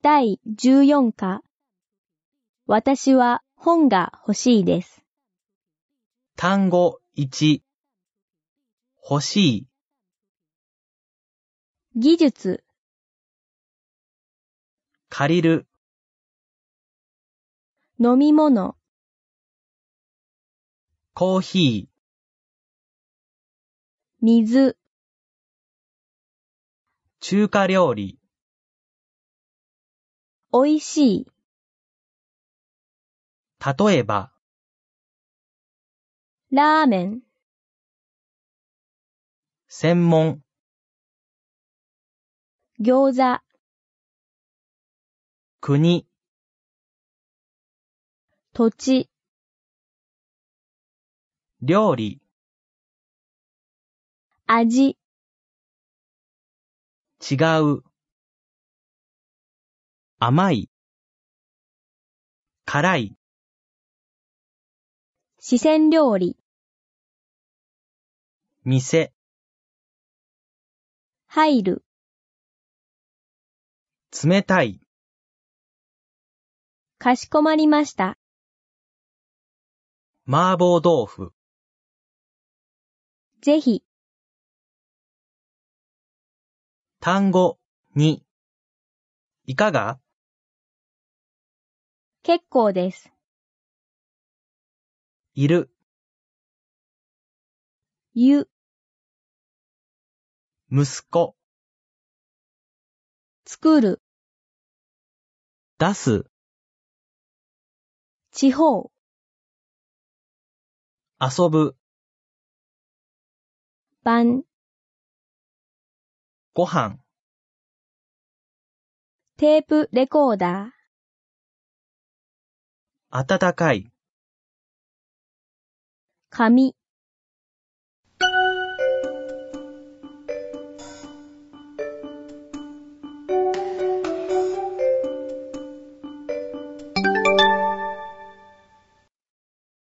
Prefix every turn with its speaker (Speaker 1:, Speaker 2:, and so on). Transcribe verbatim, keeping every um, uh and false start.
Speaker 1: だいじゅうよんか。私は本が欲しいです。
Speaker 2: 単語いち。欲しい。
Speaker 1: 技術。
Speaker 2: 借りる。
Speaker 1: 飲み物。
Speaker 2: コーヒー。
Speaker 1: 水。
Speaker 2: 中華料理。
Speaker 1: おいしい。
Speaker 2: 例えば。
Speaker 1: ラーメン。
Speaker 2: 専門。
Speaker 1: 餃子。
Speaker 2: 国。
Speaker 1: 土地。
Speaker 2: 料理。
Speaker 1: 味。
Speaker 2: 違う。甘い。辛い。
Speaker 1: 四川料理。
Speaker 2: 店。
Speaker 1: 入る。
Speaker 2: 冷たい。
Speaker 1: かしこまりました。
Speaker 2: 麻婆豆腐。
Speaker 1: ぜひ。
Speaker 2: 単語に。いかが？
Speaker 1: 結構です。
Speaker 2: いる。
Speaker 1: ゆ。
Speaker 2: 息子。
Speaker 1: 作る。
Speaker 2: 出す。
Speaker 1: 地方。
Speaker 2: 遊ぶ。
Speaker 1: 晩。
Speaker 2: ご飯。
Speaker 1: テープレコーダー。
Speaker 2: 暖かい。
Speaker 1: 紙。